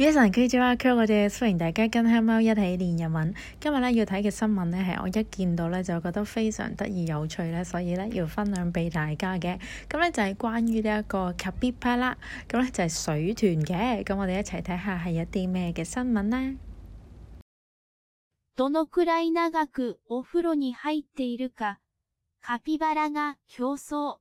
皆さんこんにちは，我哋歡迎大家跟黑貓一起練日文。今日咧要睇嘅新聞咧係我一見到咧就覺得非常得意有趣咧，所以咧要分享俾大家嘅。咁咧就係關於呢一個カピバラ，咁咧就係水豚嘅。咁我哋一齊睇下係一啲咩嘅新聞呢？ どのくらい長くお風呂に入っているか、カピバラが競争。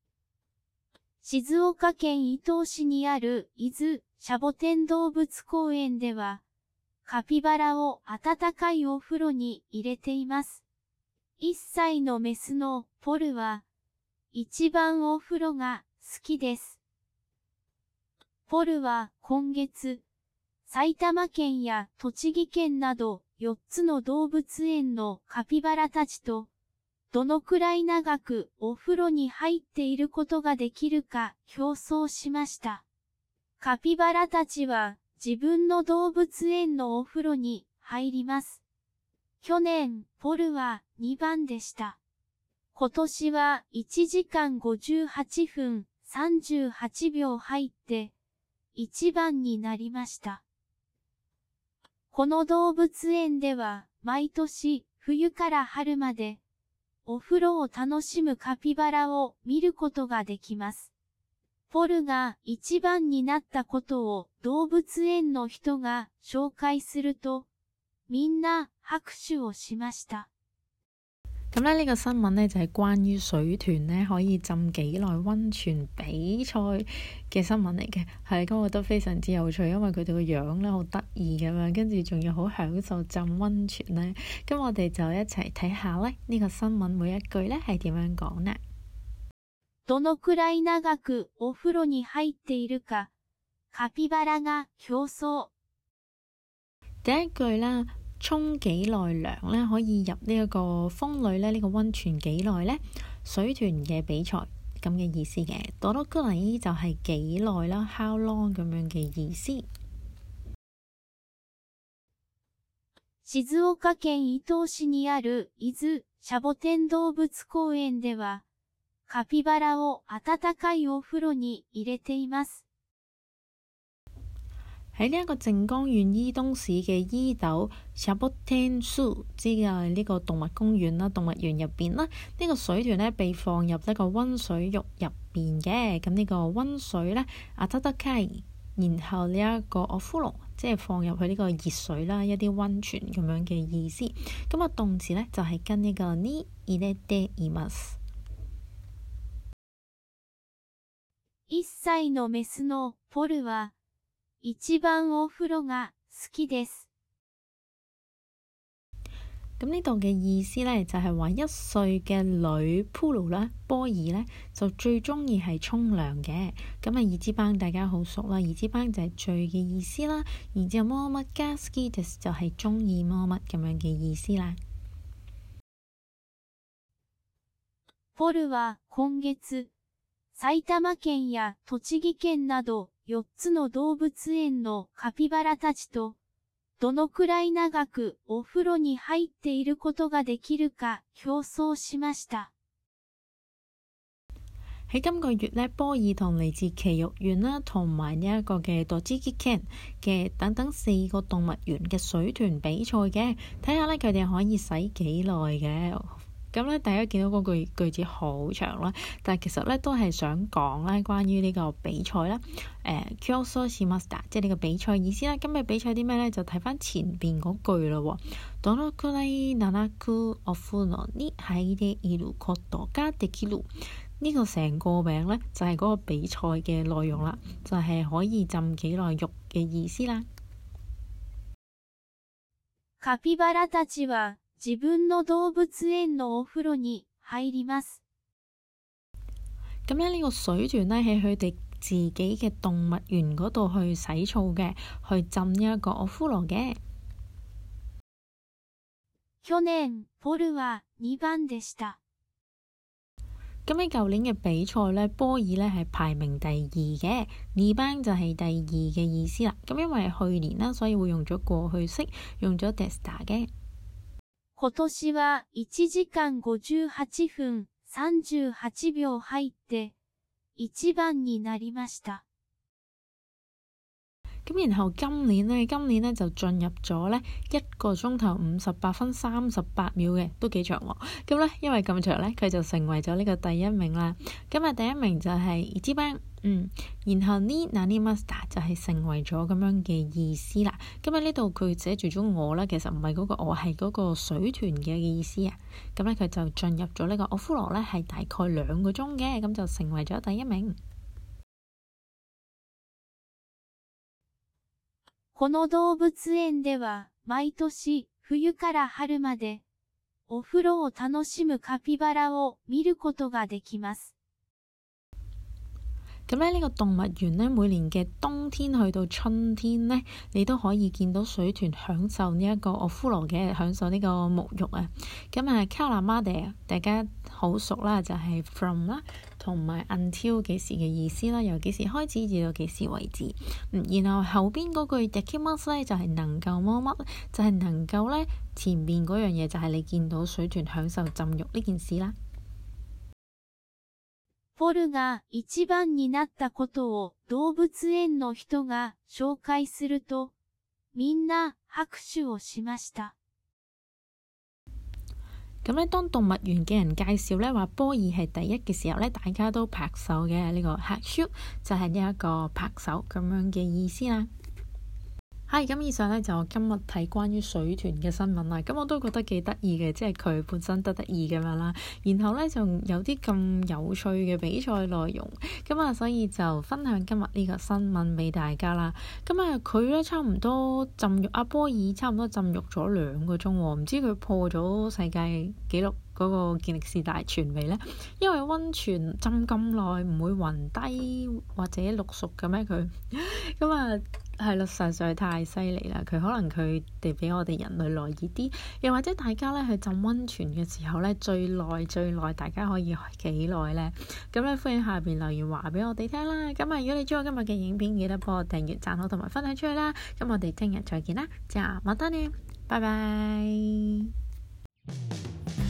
静岡県伊東市にある伊豆シャボテン動物公園では、カピバラを温かいお風呂に入れています。1歳のメスのポルは、一番お風呂が好きです。ポルは今月、埼玉県や栃木県など4つの動物園のカピバラたちと、どのくらい長くお風呂に入っていることができるか競争しました。カピバラたちは自分の動物園のお風呂に入ります。去年、ポルは2番でした。今年は1時間58分38秒入って1番になりました。この動物園では毎年冬から春までお風呂を楽しむカピバラを見ることができます。ポルが一番になったことを動物園の人が紹介すると、みんな拍手をしました。 咁呢個新聞呢，就係關於水豚呢可以浸幾耐溫泉比賽嘅新聞嚟嘅，係咁我覺得非常之有趣，因為佢哋個樣呢好得意咁樣，跟住仲要好享受浸溫泉呢。咁我哋就一齊睇下呢個新聞每一句呢係點樣講呢？ どのくらい長くお風呂に入っているか、カピバラが競爭。 第一句啦。沖幾耐涼咧，可以入呢一個風呂咧，呢個溫泉幾耐呢？水豚嘅比賽咁嘅意思嘅。どのくらい就係幾耐啦 ，how long 咁樣嘅意思。 静岡県伊東市にある伊豆シャボテン動物公園では、カピバラを温かいお風呂に入れています。 喺呢一個靜岡縣伊東市嘅伊豆シャボテン樹，即係呢個動物公園啦，動物園入邊啦，呢個水豚呢被放入呢個溫水浴入邊嘅。咁呢個溫水呢，温かい，然後呢一個お風呂，即係放入去呢個熱水啦，一啲溫泉咁樣嘅意思。咁啊動詞呢，就係跟呢個に入れています。 1歳のメスのポルは一番お風呂が好きです。 咁呢度嘅意思呢，就係話1歲嘅女ポル啦，波爾呢，就最中意係沖涼嘅。咁啊，二之班大家好熟啦，二之班就係最嘅意思啦。然之後麼乜加好きです就係中意麼乜咁樣嘅意思啦。 ポルは今月、埼玉県や栃木県など4つの動物園のカピバラたちと、どのくらい長くお風呂に入っていることができるか競爭しました。 喺今個月呢，波爾同嚟自埼玉縣啦，同埋呢一個嘅栃木県嘅等等4個動物園嘅水豚比賽嘅，睇下呢，佢哋可以使幾耐嘅。咁咧，大家見到嗰句子好長啦，但係其實咧都係想講咧關於呢個比賽啦。競爭しました即係呢個比賽意思啦。今日比賽啲咩咧？就睇翻前邊嗰句啦喎。どのくらい長くお風呂に入っていることができる？呢個成個名咧就係嗰個比賽嘅內容啦，就係可以浸幾耐浴嘅意思啦。 カピバラたちは自分の動物園のお風呂に入ります。 咁咧呢個水豚呢，喺佢哋自己嘅動物園嗰度去洗澡嘅，去浸呢一個お風呂嘅。 去年、ポルは2番でした。 咁喺舊年嘅比賽呢，波爾呢係排名第2嘅，2番就係第2嘅意思啦。咁因為去年啦，所以會用咗過去式，用咗でした嘅。 今年は1時間58分38秒入って1番になりました。 咁然後今年呢就進入咗呢1個鐘頭58分38秒嘅，都幾長喎。咁呢，因為咁長呢，佢就成為咗呢個第一名啦。咁啊，第一名就係一番。然後呢，nanimaster就係成為咗咁樣嘅意思啦。咁喺呢度佢寫住咗我啦，其實唔係嗰個我，係嗰個水豚嘅意思啊。咁咧佢就進入咗呢個お風呂咧，係大概2個鐘嘅，咁就成為咗第一名。 この動物園では毎年冬から春までお風呂を楽しむカピバラを見ることができます。 咁咧呢個動物園呢，每年嘅冬天去到春天呢，你都可以見到水豚享受呢一個お風呂嘅，享受呢個沐浴啊。咁啊からまで大家好熟啦，就係 from 啦，同埋 until 幾時嘅意思啦，由幾時開始至到幾時為止。然後後邊嗰句できます咧，就係能夠麼乜，就係能夠咧前面嗰樣嘢就係你見到水豚享受浸浴呢件事啦。 ポルが一番になったことを動物園の人が紹介すると、みんな拍手をしました。咁咧， 當動物園嘅人介紹咧話波爾係第一嘅時候咧，大家都拍手嘅。呢個拍手就係呢一個拍手咁樣嘅意思啦。係咁，以上咧就今日睇關於水豚嘅新聞啦。咁我都覺得幾得意嘅，即係佢本身得意咁樣啦。然後咧就有啲咁有趣嘅比賽內容，咁啊，所以就分享今日呢個新聞俾大家啦。咁啊，佢咧差唔多浸浴，阿波爾差唔多浸浴咗2個鐘喎，唔知佢破咗世界紀錄嗰個健力士大全未呢？因為溫泉浸咁耐唔會暈低或者綠熟嘅咩佢？咁啊係咯，實在太犀利啦！佢可能佢哋比我哋人類耐熱啲，又或者大家咧去浸溫泉嘅時候咧，最耐大家可以幾耐呢？咁咧歡迎下邊留言話俾我哋聽啦！咁啊，如果你中意今日嘅影片，記得幫我訂閱、讚好同埋分享出去啦！咁我哋聽日再見啦，じゃあまたね，拜拜。